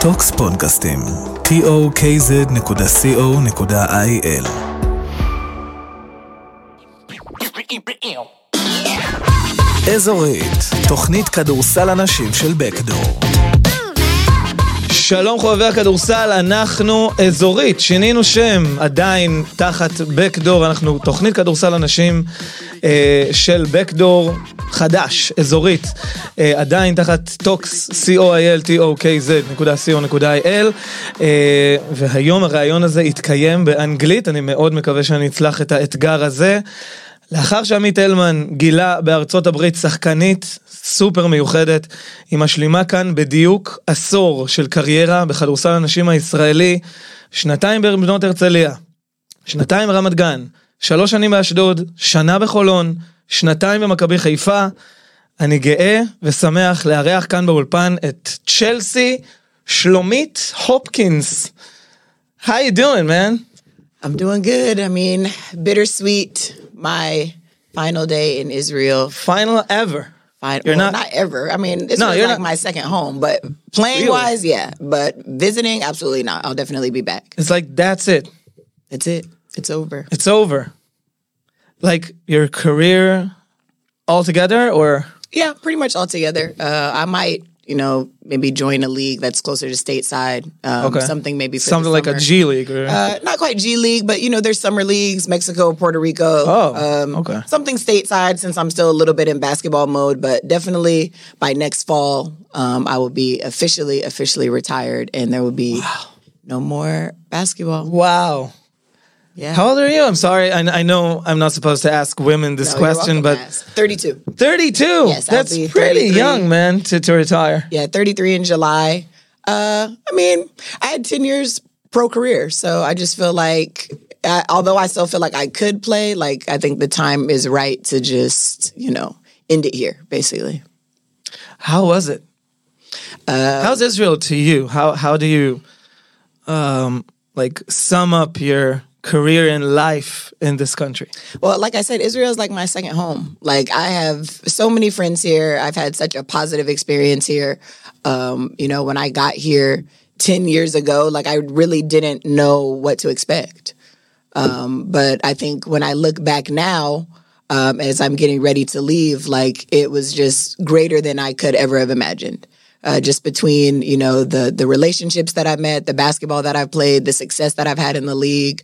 טוקס פודקאסטים. tokz.co.il. אזורית, תוכנית כדורסל אנשים של בקדור. שלום חובבי הכדורסל, אנחנו אזורית, שינינו שם, עדיין תחת בקדור, אנחנו תוכנית כדורסל אנשים של בקדור חדש, אזורית, עדיין תחת טוקס, tokz.co.il, והיום הרעיון הזה יתקיים באנגלית, אני מאוד מקווה שאני אצלח את האתגר הזה, לאחר שעמית אלמן גילה בארצות הברית שחקנית סופר מיוחדת, היא משלימה כאן בדיוק עשור של קריירה בכדורסל הנשים הישראלי, 2 בבנות הרצליה, 2 ברמת גן, 3 שנים באשדוד, 1 שנה בחולון, 2 במכבי חיפה. אני גאה ושמח לארח כאן באולפן את צ'לסי שלומית הופקינס. How you doing, man? I'm doing good. I mean, bittersweet. My final day in Israel. Final ever. Not ever. I mean, it's like my second home, but playing wise, yeah. But visiting, absolutely not. I'll definitely be back. It's like, that's it. That's it. It's over. It's over. Like your career altogether, or? Yeah, pretty much altogether. I might, maybe join a league that's closer to stateside. Okay. Something maybe for something like a G League. Or... not quite G League, but there's summer leagues, Mexico, Puerto Rico. Oh, okay. Something stateside since I'm still a little bit in basketball mode, but definitely by next fall, I will be officially retired, and there will be no more basketball. Wow. Yeah. How old are you? I'm sorry. I know I'm not supposed to ask women this question, but 32. 32. Yes, that's pretty young, man, to retire. Yeah, 33 in July. I mean, I had 10 years pro career, so I just feel like, although I still feel like I could play, like I think the time is right to just, end it here, basically. How was it? How's Israel to you? How do you sum up your career and life in this country? Well, like I said, Israel is like my second home. Like I have so many friends here. I've had such a positive experience here. When I got here 10 years ago, like I really didn't know what to expect. But I think when I look back now, as I'm getting ready to leave, like it was just greater than I could ever have imagined. Just between, the relationships that I've met, the basketball that I've played, the success that I've had in the league.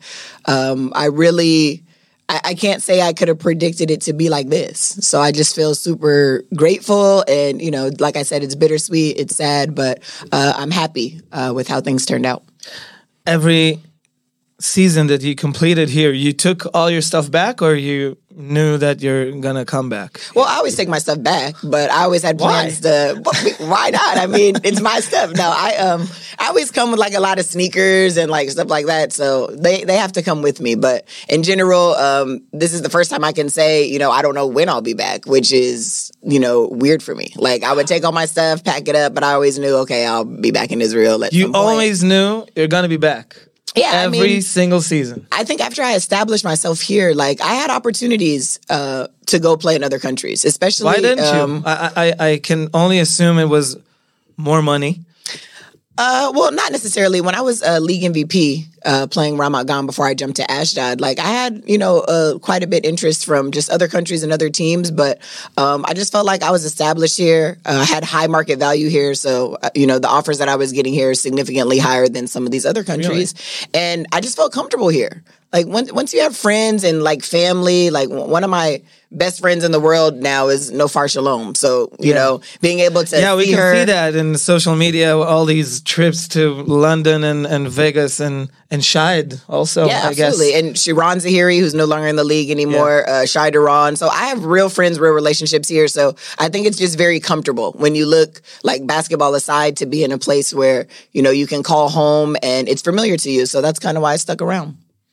I can't say I could have predicted it to be like this. So I just feel super grateful. And, like I said, it's bittersweet. It's sad, but I'm happy with how things turned out. Every season that you completed here, you took all your stuff back, or you knew that you're gonna come back? Well, I always take my stuff back, but I always had plans to. Why not? I mean, it's my stuff. No, I always come with like a lot of sneakers and like stuff like that, so they have to come with me. But in general, this is the first time I can say, I don't know when I'll be back, which is weird for me. Like I would take all my stuff, pack it up, but I always knew, okay, I'll be back in Israel at some point. You always knew you're gonna be back. Yeah, every single season. I think after I established myself here, like I had opportunities to go play in other countries, especially. Why didn't you? I can only assume it was more money. Well, not necessarily. When I was league MVP playing Ramat Gan before I jumped to Ashdod, like I had, quite a bit interest from just other countries and other teams. But I just felt like I was established here. I had high market value here. So, the offers that I was getting here are significantly higher than some of these other countries. Really? And I just felt comfortable here. Like once you have friends and like family, like one of my best friends in the world now is Nofar Shalom. So, being able to we can see that in social media, all these trips to London and Vegas and Shahid also, yeah, I absolutely. guess. And Shiran Zahiri, who's no longer in the league anymore, Shai Duran. So I have real friends, real relationships here. So I think it's just very comfortable when you look like basketball aside to be in a place where, you can call home and it's familiar to you. So that's kind of why I stuck around.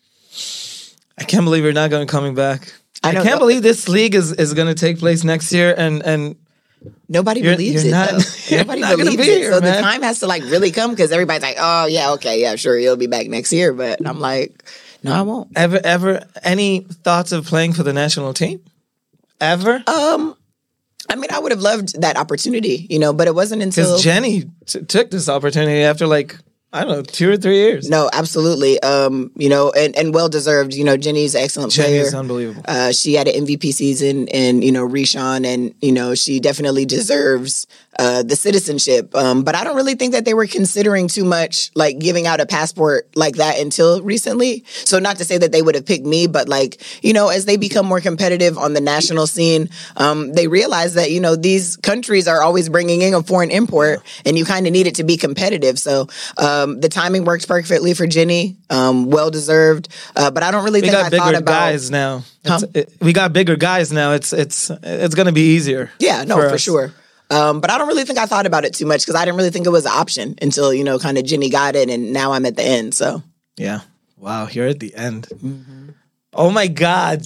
I can't believe you're not going to coming back. I can't believe this league is going to take place next year, and nobody believes it. Nobody believes it. So the time has to like really come because everybody's like, oh yeah, okay, yeah, sure, you'll be back next year. But I'm like, no, I won't. Ever any thoughts of playing for the national team? Ever? I mean, I would have loved that opportunity, but it wasn't until Because Jenny took this opportunity after like, I don't know, 2 or 3 years. No, absolutely. And well deserved. Jenny's an excellent player. Jenny's unbelievable. She had an MVP season, and Rishon, and she definitely deserves the citizenship. But I don't really think that they were considering too much like giving out a passport like that until recently. So not to say that they would have picked me, but like as they become more competitive on the national scene, they realize that these countries are always bringing in a foreign import, and you kind of need it to be competitive. So. The timing works perfectly for Jenny. Well deserved. But I don't really think I thought about guys now. We got bigger guys now. It's going to be easier. Yeah, no, for sure. But I don't really think I thought about it too much because I didn't really think it was an option until kind of Jenny got it, and now I'm at the end. So yeah, wow, you're at the end. Mm-hmm. Oh my God.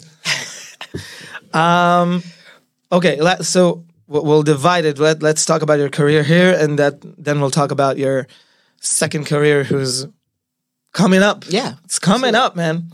Okay, so we'll divide it. Let's talk about your career here, and then we'll talk about your second career who's coming up. Yeah. It's coming up, man.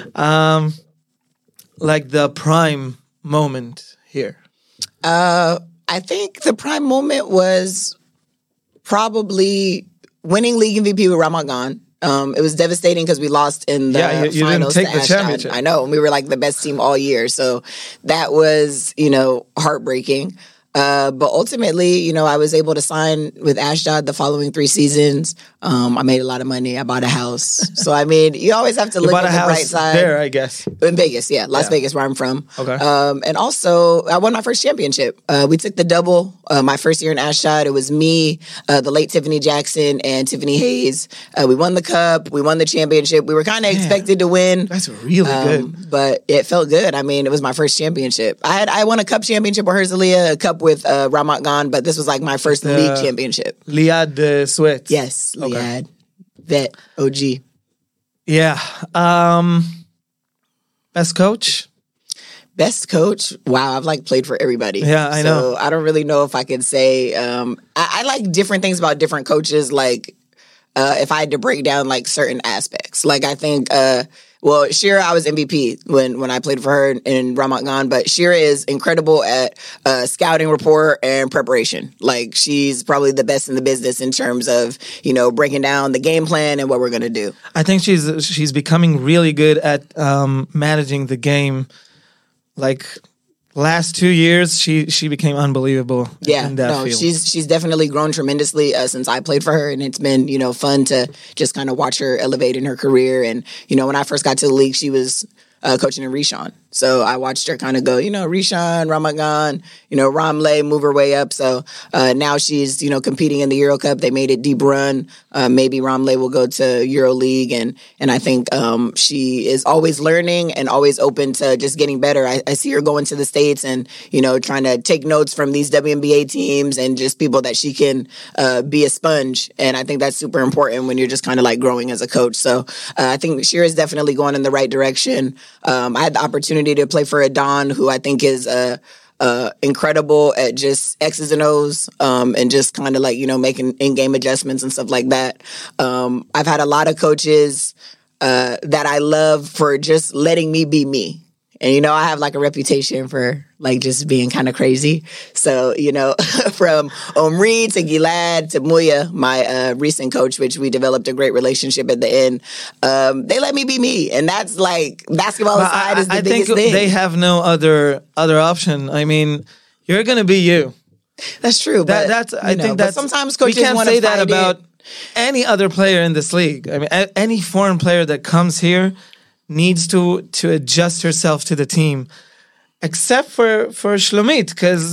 Like the prime moment here. I think the prime moment was probably winning league MVP with Ramat Gan. It was devastating because we lost in the you finals. didn't take to the championship. I know. And we were like the best team all year. So that was, heartbreaking. But ultimately, I was able to sign with Ashdod the following 3 seasons. I made a lot of money. I bought a house. So, I mean, you always have to look at the bright side. There, I guess. In Vegas, Las Vegas, where I'm from. Okay. And also, I won my first championship. We took the double my first year in Ashdod. It was me, the late Tiffany Jackson, and Tiffany Hayes. We won the cup. We won the championship. We were kind of expected to win. That's really good. But it felt good. I mean, it was my first championship. I won a cup championship with Herzliya, a cup with Ramat Gan, but this was like my first league championship. Liad the Swiss. Yes, Liad. Vet, OG. Yeah. Best coach? Best coach? Wow, I've played for everybody. Yeah, I know. So I don't really know if I could say. I like different things about different coaches. Like if I had to break down certain aspects, I think. Shira, I was MVP when I played for her in Ramat Gan, but Shira is incredible at scouting report and preparation. She's probably the best in the business in terms of, breaking down the game plan and what we're going to do. I think she's becoming really good at managing the game. Last 2 years, she became unbelievable. Yeah, in that field. She's definitely grown tremendously since I played for her, and it's been fun to just kind of watch her elevate in her career. And when I first got to the league, she was coaching in Rishon. So I watched her kind of go, Rishon, Ramat Gan, Ramle move her way up. So now she's, competing in the Euro Cup. They made it deep run. Maybe Ramle will go to Euro League. And I think she is always learning and always open to just getting better. I see her going to the States and, trying to take notes from these WNBA teams and just people that she can be a sponge. And I think that's super important when you're just kind of growing as a coach. So I think Shira is definitely going in the right direction. I had the opportunity to play for Adon, who I think is incredible at just X's and O's and just kind of making in-game adjustments and stuff like that. I've had a lot of coaches that I love for just letting me be me. And, I have a reputation for just being kind of crazy. So, from Omri to Gilad to Muya, my recent coach, which we developed a great relationship at the end, they let me be me. And that's basketball aside is the biggest thing. I think they have no other option. I mean, you're going to be you. That's true. But, I think that's sometimes coaches we can't say that about it. any other player in this league. I mean, any foreign player that comes here needs to adjust herself to the team, except for Shlomit, because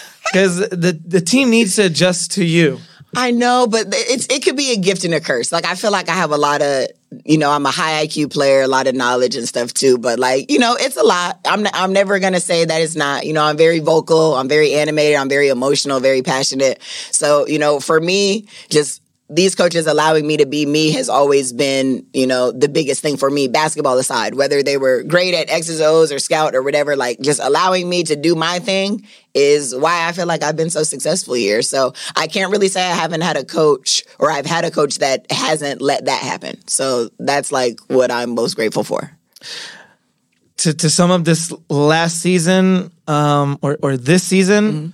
the team needs to adjust to you. I know, but it could be a gift and a curse. I feel like I have a lot of, I'm a high IQ player, a lot of knowledge and stuff too. But it's a lot. I'm never gonna say that it's not. I'm very vocal. I'm very animated. I'm very emotional. Very passionate. So for me, just these coaches allowing me to be me has always been, the biggest thing for me, basketball aside, whether they were great at X's, O's or scout or whatever, just allowing me to do my thing is why I feel like I've been so successful here. So I can't really say I haven't had a coach or I've had a coach that hasn't let that happen. So that's what I'm most grateful for. To sum up this last season, or this season,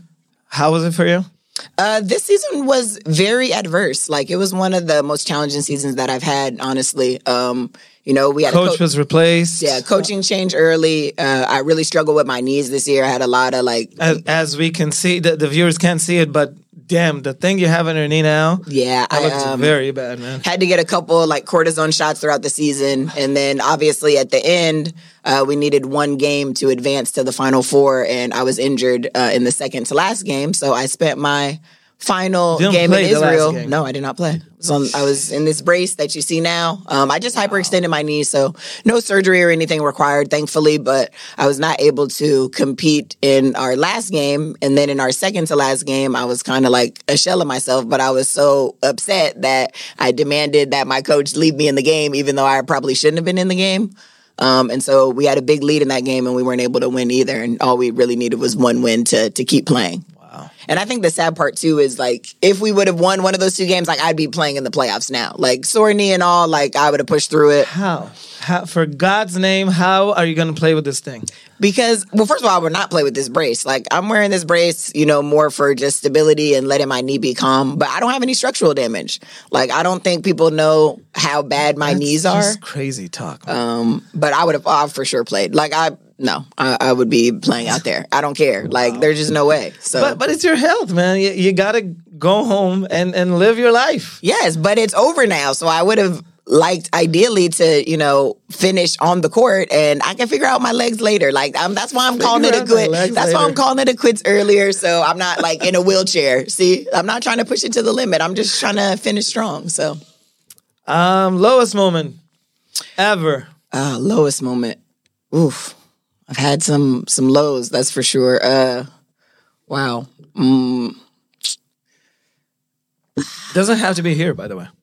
How was it for you? This season was very adverse. Like, it was one of the most challenging seasons that I've had, honestly. We had Coach was replaced. Yeah, coaching change early. I really struggled with my knees this year. I had a lot of As we can see, the viewers can't see it, but damn, the thing you have on your knee now. Yeah, that looks very bad, man. Had to get a couple cortisone shots throughout the season, and then obviously at the end, we needed one game to advance to the Final Four, and I was injured in the second to last game, so I spent my final game in Israel. No, I did not play. I was in this brace that you see now. I just hyperextended my knee, so no surgery or anything required, thankfully, but I was not able to compete in our last game. And then in our second to last game, I was kind of like a shell of myself, but I was so upset that I demanded that my coach leave me in the game, even though I probably shouldn't have been in the game. And so we had a big lead in that game, and we weren't able to win either. And all we really needed was one win to keep playing. And I think the sad part, too, is, if we would have won one of those two games, I'd be playing in the playoffs now. Sore knee and all, I would have pushed through it. How? For God's name, how are you going to play with this thing? Because, well, first of all, I would not play with this brace. I'm wearing this brace, more for just stability and letting my knee be calm. But I don't have any structural damage. I don't think people know how bad my knees are. That's crazy talk. But I've for sure played. I would be playing out there. I don't care. There's just no way. So, but it's your health, man. You got to go home and live your life. Yes, but it's over now. So I would have liked ideally to, finish on the court, and I can figure out my legs later. That's why I'm calling it a quit. That's why I'm calling it a quits earlier. So I'm not in a wheelchair. See, I'm not trying to push it to the limit. I'm just trying to finish strong. So, lowest moment ever. Lowest moment. Oof. I've had some lows, that's for sure. Wow. Doesn't have to be here, by the way.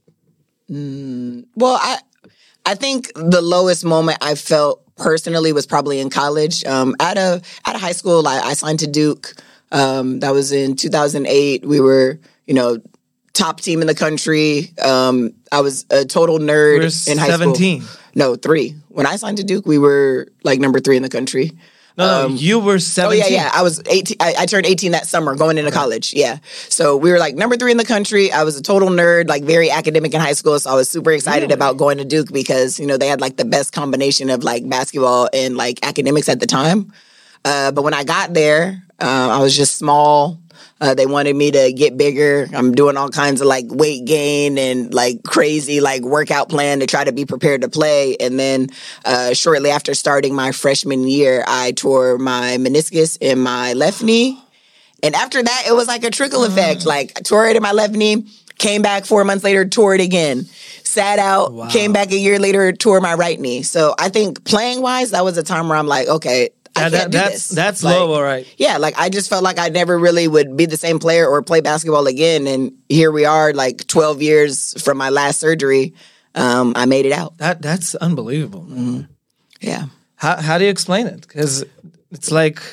Well, I think the lowest moment I felt personally was probably in college. Out of high school, I signed to Duke. That was in 2008. We were, top team in the country. I was a total nerd in high 17. school. No, 3. When I signed to Duke, we were number 3 in the country. No, you were 17. Oh, yeah. I was 18. I turned 18 that summer going into college. Yeah. So we were number 3 in the country. I was a total nerd, very academic in high school. So I was super excited about going to Duke because, they had the best combination of basketball and academics at the time. But when I got there, I was just small. They wanted me to get bigger. I'm doing all kinds of weight gain and crazy workout plan to try to be prepared to play. And then shortly after starting my freshman year, I tore my meniscus in my left knee. And after that, it was a trickle effect. I tore it in my left knee, came back 4 months later, tore it again. Sat out, came back a year later, tore my right knee. So I think playing wise, that was a time where I'm okay, I can't do this. That's low, all right. Yeah, I just felt I never really would be the same player or play basketball again. And here we are, 12 years from my last surgery. I made it out. That's unbelievable. Mm-hmm. Yeah. How do you explain it? Because it's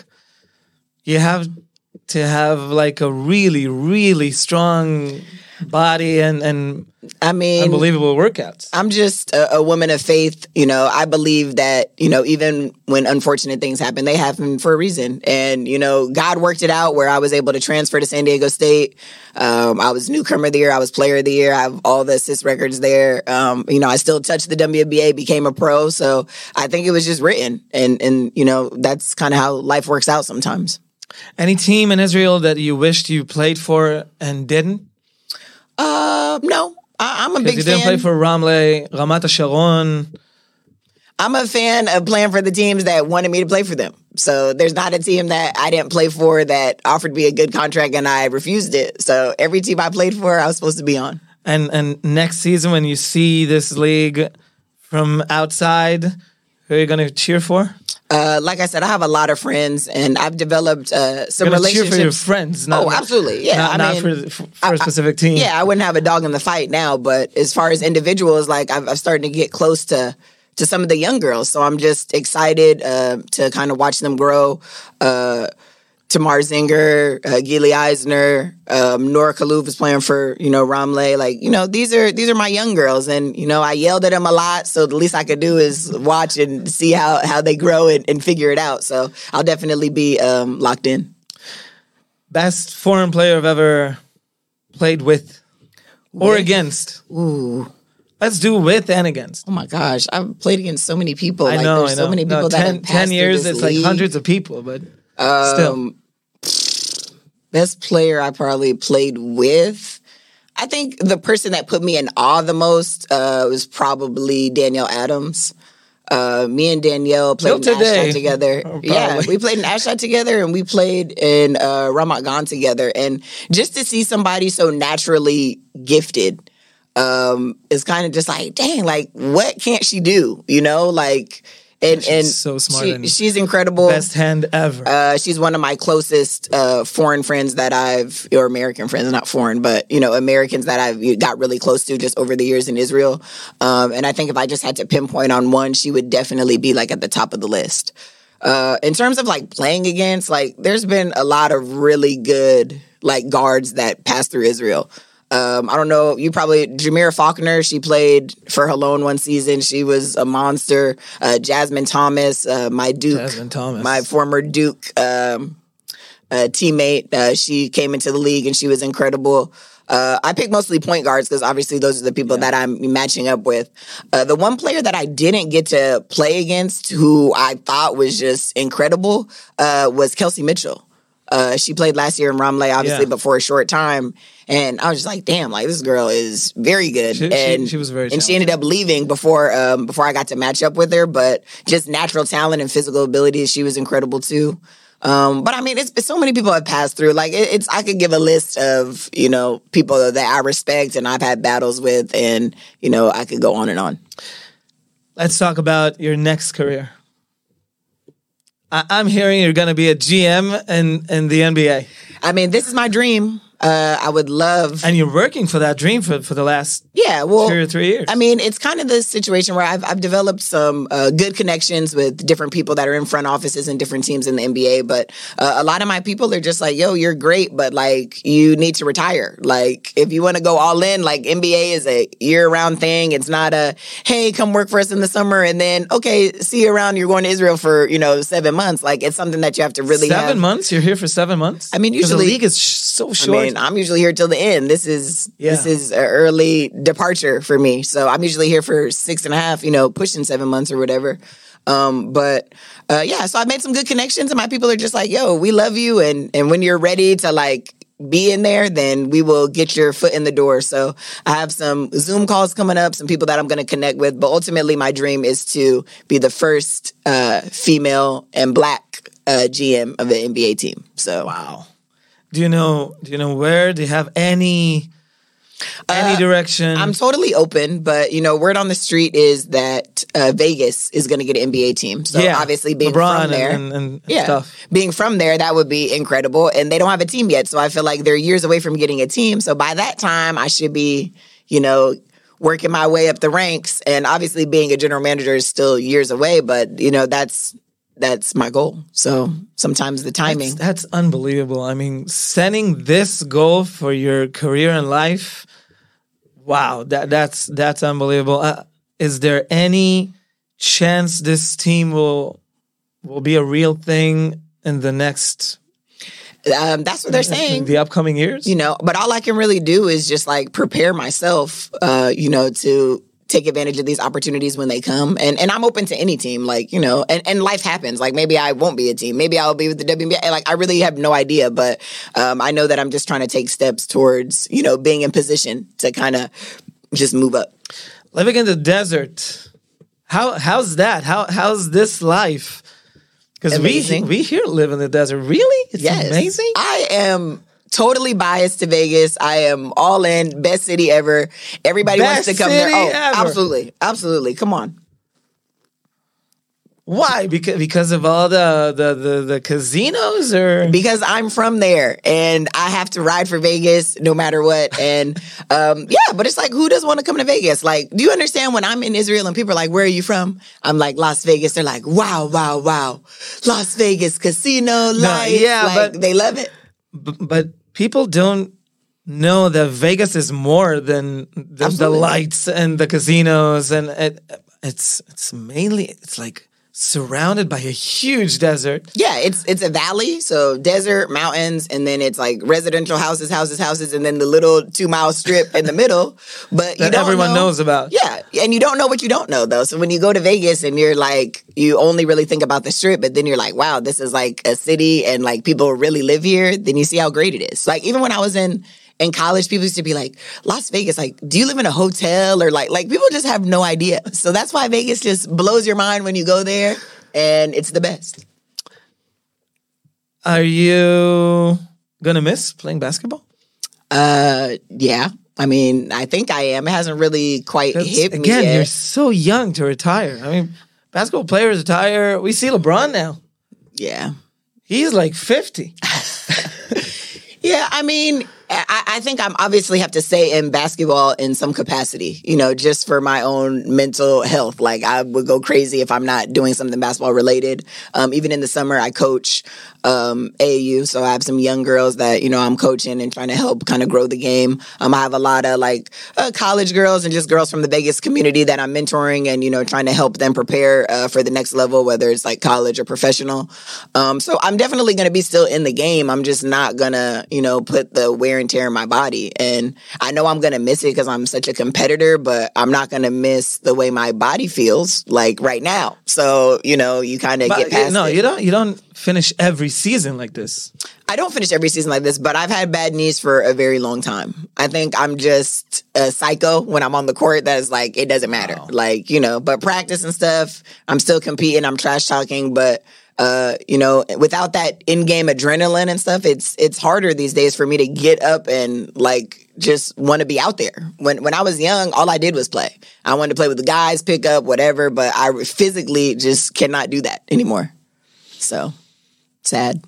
you have to have a really, really strong body and I mean, unbelievable workouts. I'm just a woman of faith. I believe that, even when unfortunate things happen, they happen for a reason. And, God worked it out where I was able to transfer to San Diego State. I was newcomer of the year. I was player of the year. I have all the assist records there. I still touched the WNBA, became a pro. So I think it was just written. And that's kind of how life works out sometimes. Any team in Israel that you wished you played for and didn't? No. I'm a big fan. You didn't play for Ramle, Ramat HaSharon. I'm a fan of playing for the teams that wanted me to play for them. So there's not a team that I didn't play for that offered me a good contract and I refused it. So every team I played for, I was supposed to be on. And next season, when you see this league from outside, who are you going to cheer for? Like I said, I have a lot of friends, and I've developed some relationships. Cheer for your friends, absolutely, yeah. Not for a specific team. Yeah, I wouldn't have a dog in the fight now, but as far as individuals, I've started to get close to some of the young girls, so I'm just excited to kind of watch them grow. Tamar Zinger, Gili Eisner, Nora Kaluf is playing for, Ramle. These are my young girls. And, I yelled at them a lot. So the least I could do is watch and see how they grow and figure it out. So I'll definitely be locked in. Best foreign player I've ever played with or against. Ooh. Let's do with and against. Oh my gosh, I've played against so many people. I Like, know, there's so many people that have passed 10 years, through it's this like league. hundreds of people, but still. Best player I probably played with. I think the person that put me in awe the most was probably Danielle Adams. Me and Danielle played in Ashdod together. Yeah, we played in Ashdod together, and we played in Ramat Gan together. And just to see somebody so naturally gifted is kind of just like, dang, like, what can't she do? You know, like... And so smart. She's incredible. Best hand ever. She's one of my closest foreign friends that or American friends, not foreign, but, you know, Americans that I've got really close to just over the years in Israel. And I think if I just had to pinpoint on one, she would definitely be like at the top of the list. In terms of like playing against, like, there's been a lot of really good like guards that pass through Israel. I don't know, Jameer Faulkner, she played for Halone one season. She was a monster. Jasmine Thomas, my former Duke teammate, she came into the league and she was incredible. I pick mostly point guards because obviously those are the people that I'm matching up with. The one player that I didn't get to play against who I thought was just incredible was Kelsey Mitchell. She played last year in Ramleh, obviously, but for a short time. And I was just like, damn, like, this girl is very good. She was very talented. And she ended up leaving before I got to match up with her. But just natural talent and physical ability, she was incredible, too. But, I mean, it's so many people have passed through. Like, I could give a list of, you know, people that I respect and I've had battles with. And, you know, I could go on and on. Let's talk about your next career. I'm hearing you're going to be a GM in the NBA. I mean, this is my dream. I would love... And you're working for that dream for the last 2 or 3 years. I mean, it's kind of the situation where I've developed some good connections with different people that are in front offices and different teams in the NBA, but a lot of my people are just like, yo, you're great, but like, you need to retire. Like, if you want to go all in, like, NBA is a year-round thing. It's not a, hey, come work for us in the summer, and then, okay, see you around, you're going to Israel for, 7 months. Like, it's something that you have to really 7 months? You're here for 7 months? I mean, usually... the league is so short. I mean, I'm usually here till the end. This is an early departure for me. So I'm usually here for 6.5, pushing 7 months or whatever. So I made some good connections and my people are just like, yo, we love you. And when you're ready to like be in there, then we will get your foot in the door. So I have some Zoom calls coming up, some people that I'm going to connect with. But ultimately, my dream is to be the first female and Black GM of an NBA team. So wow. Do you know where? Do you have any direction? I'm totally open, but word on the street is that Vegas is going to get an NBA team. So obviously being LeBron from there, and stuff. Being from there, that would be incredible. And they don't have a team yet, so I feel like they're years away from getting a team. So by that time, I should be, working my way up the ranks. And obviously, being a general manager is still years away, but that's my goal. So sometimes the timing. That's unbelievable. I mean, setting this goal for your career and life, wow, that's unbelievable. Is there any chance this team will be a real thing in the next... that's what they're saying. The upcoming years? But all I can really do is just like prepare myself, to take advantage of these opportunities when they come. And I'm open to any team, like, and life happens. Like, maybe I won't be a team. Maybe I'll be with the WNBA. Like, I really have no idea, but I know that I'm just trying to take steps towards, being in position to kind of just move up. Living in the desert. How's that? How's this life? Because we here live in the desert. Really? It's amazing? I am... totally biased to Vegas. I am all in. Best city ever. Everybody wants to come there. Oh, ever. Absolutely. Absolutely. Come on. Why? Because of all the casinos, or because I'm from there and I have to ride for Vegas no matter what. And but it's like, who doesn't want to come to Vegas? Like, do you understand when I'm in Israel and people are like, where are you from? I'm like, Las Vegas. They're like, wow, Las Vegas casino life. But they love it. But people don't know that Vegas is more than the lights and the casinos, and it's mainly, it's like surrounded by a huge desert. Yeah, it's a valley, so desert, mountains, and then it's like residential houses, and then the little 2-mile strip in the middle. But you That don't everyone know. knows about. Yeah, and you don't know what you don't know, though. So when you go to Vegas and you're like, you only really think about the strip, but then you're like, wow, this is like a city and like people really live here, then you see how great it is. Like even when I was in college, people used to be like, Las Vegas, like, do you live in a hotel? Or like people just have no idea. So that's why Vegas just blows your mind when you go there, and it's the best. Are you gonna miss playing basketball? Yeah. I mean, I think I am. It hasn't really quite hit me Again, yet. you're so young to retire. I mean, basketball players retire. We see LeBron now. Yeah. He's like 50. Yeah, I mean, I think I'm obviously have to stay in basketball in some capacity, just for my own mental health. Like I would go crazy if I'm not doing something basketball related. Even in the summer, I coach AAU, so I have some young girls that, I'm coaching and trying to help kind of grow the game. I have a lot of college girls and just girls from the Vegas community that I'm mentoring and, trying to help them prepare for the next level, whether it's like college or professional. So I'm definitely going to be still in the game. I'm just not going to, put the wear and tear in my body. And I know I'm going to miss it because I'm such a competitor, but I'm not going to miss the way my body feels like right now. So, you kind of get past it. You don't finish every season like this. I don't finish every season like this, but I've had bad knees for a very long time. I think I'm just a psycho when I'm on the court that is like, it doesn't matter. Wow. But practice and stuff, I'm still competing, I'm trash talking, but without that in-game adrenaline and stuff, it's harder these days for me to get up and just want to be out there. When I was young, all I did was play. I wanted to play with the guys, pick up, whatever, but I physically just cannot do that anymore. So, sad.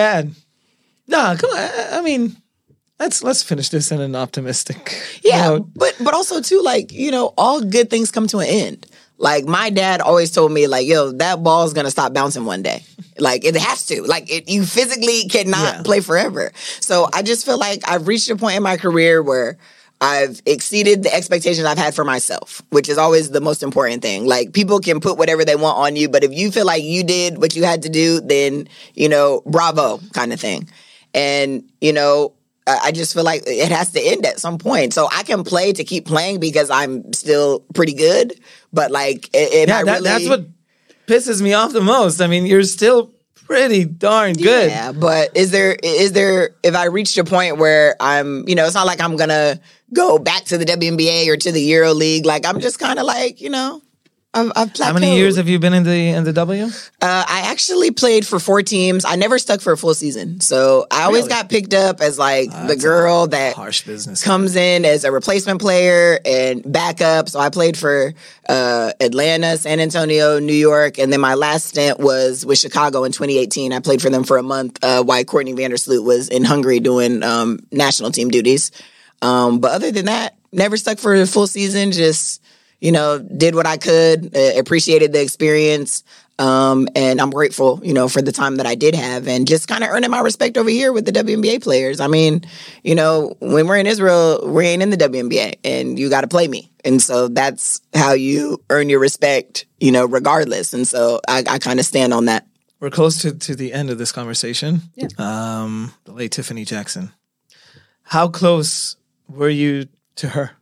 No, come on. I mean, let's finish this in an optimistic. Yeah, but also too, all good things come to an end. Like my dad always told me, yo, that ball's gonna stop bouncing one day. It has to. You physically cannot play forever. So I just feel like I've reached a point in my career where I've exceeded the expectations I've had for myself, which is always the most important thing. People can put whatever they want on you, but if you feel like you did what you had to do, then, bravo kind of thing. And, I just feel like it has to end at some point. So I can play to keep playing because I'm still pretty good. But that's what pisses me off the most. I mean, you're still pretty darn good. Yeah, but is there if I reached a point where I'm, it's not like I'm gonna go back to the WNBA or to the Euro League. I'm just kind of I've plateaued. How many years have you been in the W? I actually played for 4 teams. I never stuck for a full season. So I always got picked up as the girl that harsh business comes in as a replacement player and backup. So I played for Atlanta, San Antonio, New York, and then my last stint was with Chicago in 2018. I played for them for a month while Courtney Vandersloot was in Hungary doing national team duties. But other than that, never stuck for a full season, just did what I could, appreciated the experience, and I'm grateful, for the time that I did have, and just kind of earning my respect over here with the WNBA players. I mean, when we're in Israel, we ain't in the WNBA, and you got to play me. And so that's how you earn your respect, regardless. And so I kind of stand on that. We're close to the end of this conversation. Yeah. The late Tiffany Jackson. How close were you to her?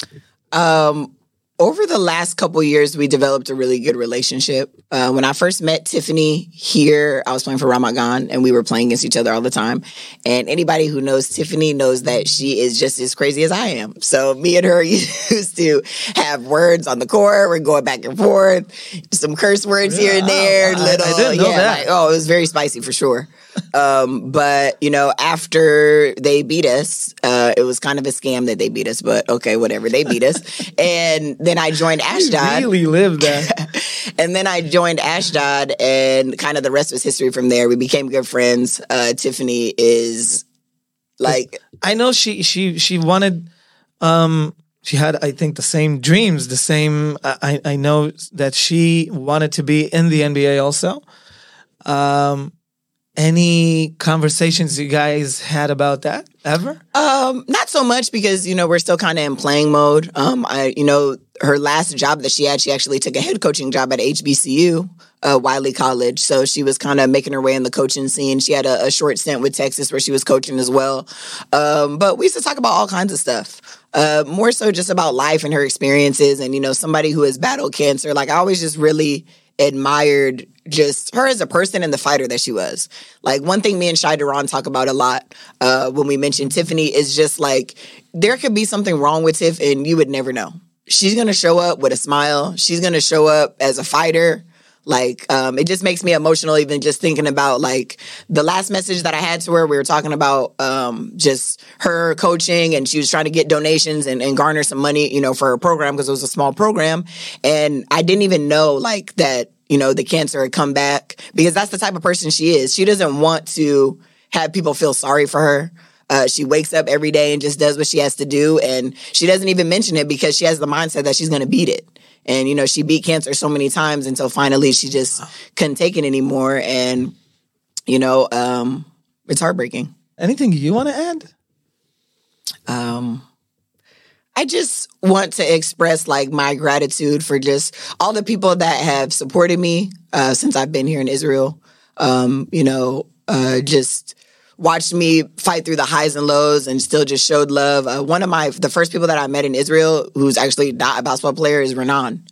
Over the last couple of years, we developed a really good relationship. When I first met Tiffany here, I was playing for Ramat Gan, and we were playing against each other all the time. And anybody who knows Tiffany knows that she is just as crazy as I am. So me and her used to have words on the court. We're going back and forth, some curse words here and there. I didn't know that. It was very spicy for sure. But after they beat us, it was kind of a scam that they beat us, but okay, whatever. They beat us. And then I joined Ashdod. You really lived that. And then I joined Ashdod, and kind of the rest was history from there. We became good friends. Tiffany is I know she wanted, she had, I think, the same dreams, the same, I know that she wanted to be in the NBA also. Any conversations you guys had about that ever? Not so much because, we're still kind of in playing mode. her last job that she had, she actually took a head coaching job at HBCU, Wiley College. So she was kind of making her way in the coaching scene. She had a short stint with Texas where she was coaching as well. But we used to talk about all kinds of stuff. More so just about life and her experiences and, somebody who has battled cancer. Like, I always just really admired just her as a person and the fighter that she was. Like, one thing me and Shai Duran talk about a lot when we mention Tiffany is just like, there could be something wrong with Tiff and you would never know. She's going to show up with a smile. She's going to show up as a fighter. Like, it just makes me emotional even just thinking about, like, the last message that I had to her. We were talking about just her coaching, and she was trying to get donations and garner some money, for her program because it was a small program. And I didn't even know, like, that, the cancer had come back because that's the type of person she is. She doesn't want to have people feel sorry for her. She wakes up every day and just does what she has to do. And she doesn't even mention it because she has the mindset that she's going to beat it. And, she beat cancer so many times until finally she just couldn't take it anymore. And, it's heartbreaking. Anything you want to add? I just want to express, like, my gratitude for just all the people that have supported me since I've been here in Israel. Just watched me fight through the highs and lows and still just showed love. The first people that I met in Israel, who's actually not a basketball player, is Renan.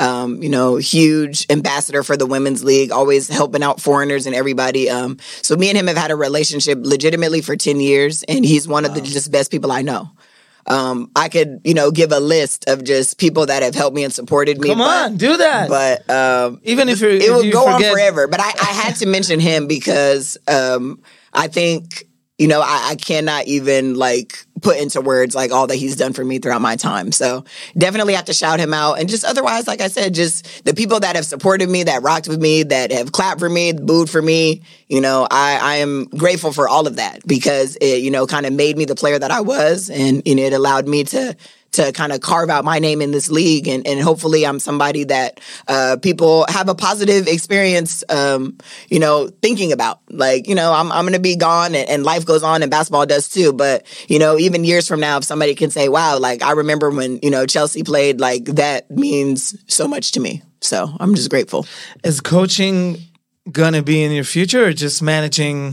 Huge ambassador for the women's league, always helping out foreigners and everybody. So me and him have had a relationship legitimately for 10 years, and he's one of the just best people I know. I could, give a list of just people that have helped me and supported me. Come on, do that. But even if it would go forget... on forever. But I had to mention him because I think, I cannot even, like, put into words, like, all that he's done for me throughout my time. So definitely have to shout him out. And just otherwise, like I said, just the people that have supported me, that rocked with me, that have clapped for me, booed for me, I am grateful for all of that because it, kind of made me the player that I was. And, it allowed me to kind of carve out my name in this league. And hopefully I'm somebody that people have a positive experience, thinking about. Like, I'm going to be gone and life goes on and basketball does too. But, even years from now, if somebody can say, wow, like, I remember when, Chelsea played, like, that means so much to me. So I'm just grateful. Is coaching going to be in your future or just managing?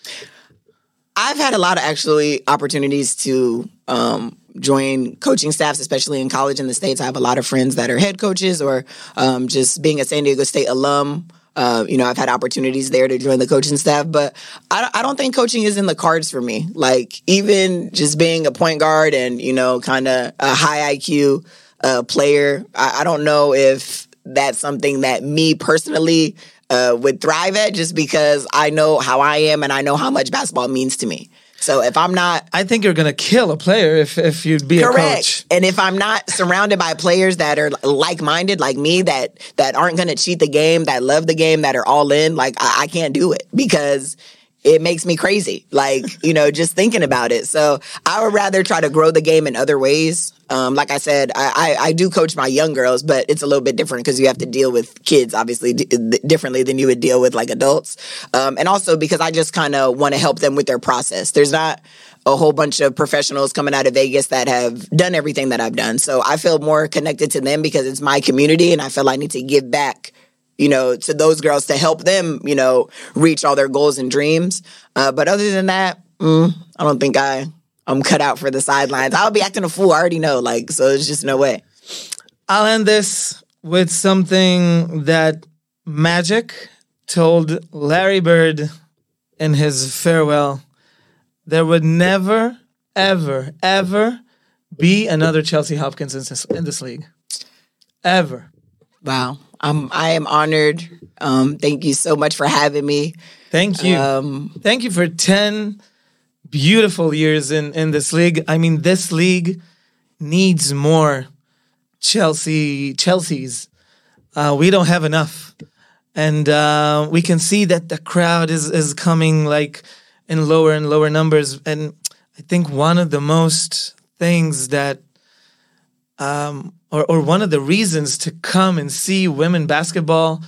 I've had a lot of actually opportunities to join coaching staffs, especially in college in the States. I have a lot of friends that are head coaches or just being a San Diego State alum. I've had opportunities there to join the coaching staff, but I don't think coaching is in the cards for me. Like, even just being a point guard and, kind of a high IQ player, I don't know if that's something that me personally would thrive at just because I know how I am and I know how much basketball means to me. So if I'm not... I think you're going to kill a player if you'd be correct. A coach. And if I'm not surrounded by players that are like-minded, like me, that aren't going to cheat the game, that love the game, that are all in, like, I can't do it because it makes me crazy. Like, just thinking about it. So I would rather try to grow the game in other ways. Like I said, I do coach my young girls, but it's a little bit different because you have to deal with kids, obviously, differently than you would deal with, like, adults. And also because I just kind of want to help them with their process. There's not a whole bunch of professionals coming out of Vegas that have done everything that I've done. So I feel more connected to them because it's my community and I feel I need to give back to those girls to help them, reach all their goals and dreams. But other than that, I don't think I'm cut out for the sidelines. I'll be acting a fool. I already know, so there's just no way. I'll end this with something that Magic told Larry Bird in his farewell. There would never, ever, ever be another Chelsea Hopkins in this league. Ever. Wow. I am honored. Thank you so much for having me. Thank you. Thank you for 10 beautiful years in this league. I mean, this league needs more Chelsea's. We don't have enough. And we can see that the crowd is coming, like, in lower and lower numbers. And I think one of the most things that or one of the reasons to come and see women basketball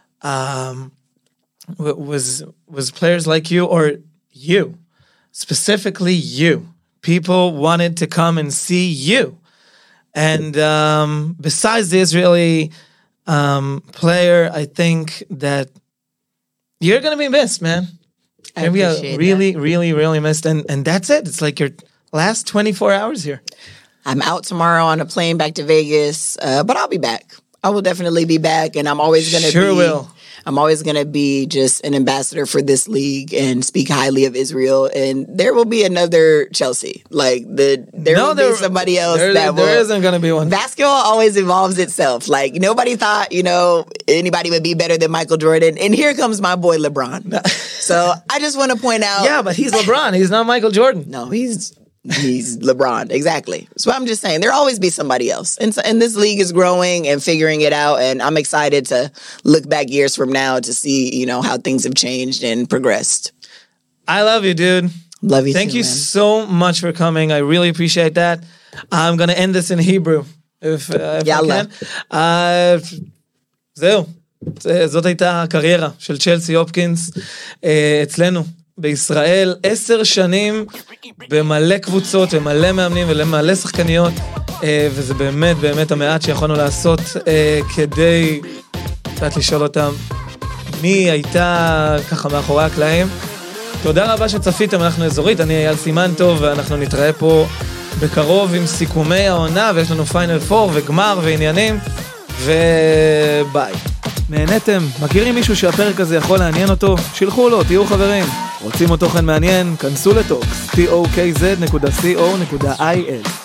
was players like you, or you, specifically you. People wanted to come and see you. And besides the Israeli player, I think that you're going to be missed, man. I appreciate really, that. really, really missed. And that's it. It's like your last 24 hours here. I'm out tomorrow on a plane back to Vegas, but I'll be back. I will definitely be back, and I'm always going to I'm always going to be just an ambassador for this league and speak highly of Israel. And there will be another Chelsea. Like there will be somebody else there isn't going to be one. Basketball always evolves itself. Like nobody thought, anybody would be better than Michael Jordan. And here comes my boy LeBron. So I just want to point out. Yeah, but he's LeBron. He's not Michael Jordan. No, he's LeBron, exactly. So I'm just saying there'll always be somebody else, and this league is growing and figuring it out, and I'm excited to look back years from now to see how things have changed and progressed. I love you, dude. Love you. Thank too, you man. so much for coming. I really appreciate that. I'm gonna end this in Hebrew if I can. זהו. זאת הייתה הקריירה של צ'לסי הופקינס אצלנו בישראל, 10 שנים במלא קבוצות ומלא מאמנים ומלא שחקניות, וזה באמת באמת המעט שיכולנו לעשות כדי קצת לשאול אותם מי הייתה ככה מאחורי הקלעים. תודה רבה שצפיתם, אנחנו אזורית, אני אייל סימנטוב, ואנחנו נתראה פה בקרוב עם סיכומי העונה, ויש לנו פיינל 4 וגמר ועניינים, וביי. נהנתם? מכירים מישהו שהפרק הזה יכול לעניין אותו? שילחו לו, תהיו חברים. רוצים עוד תוכן מעניין? כנסו לטוקס, tokz.co.il.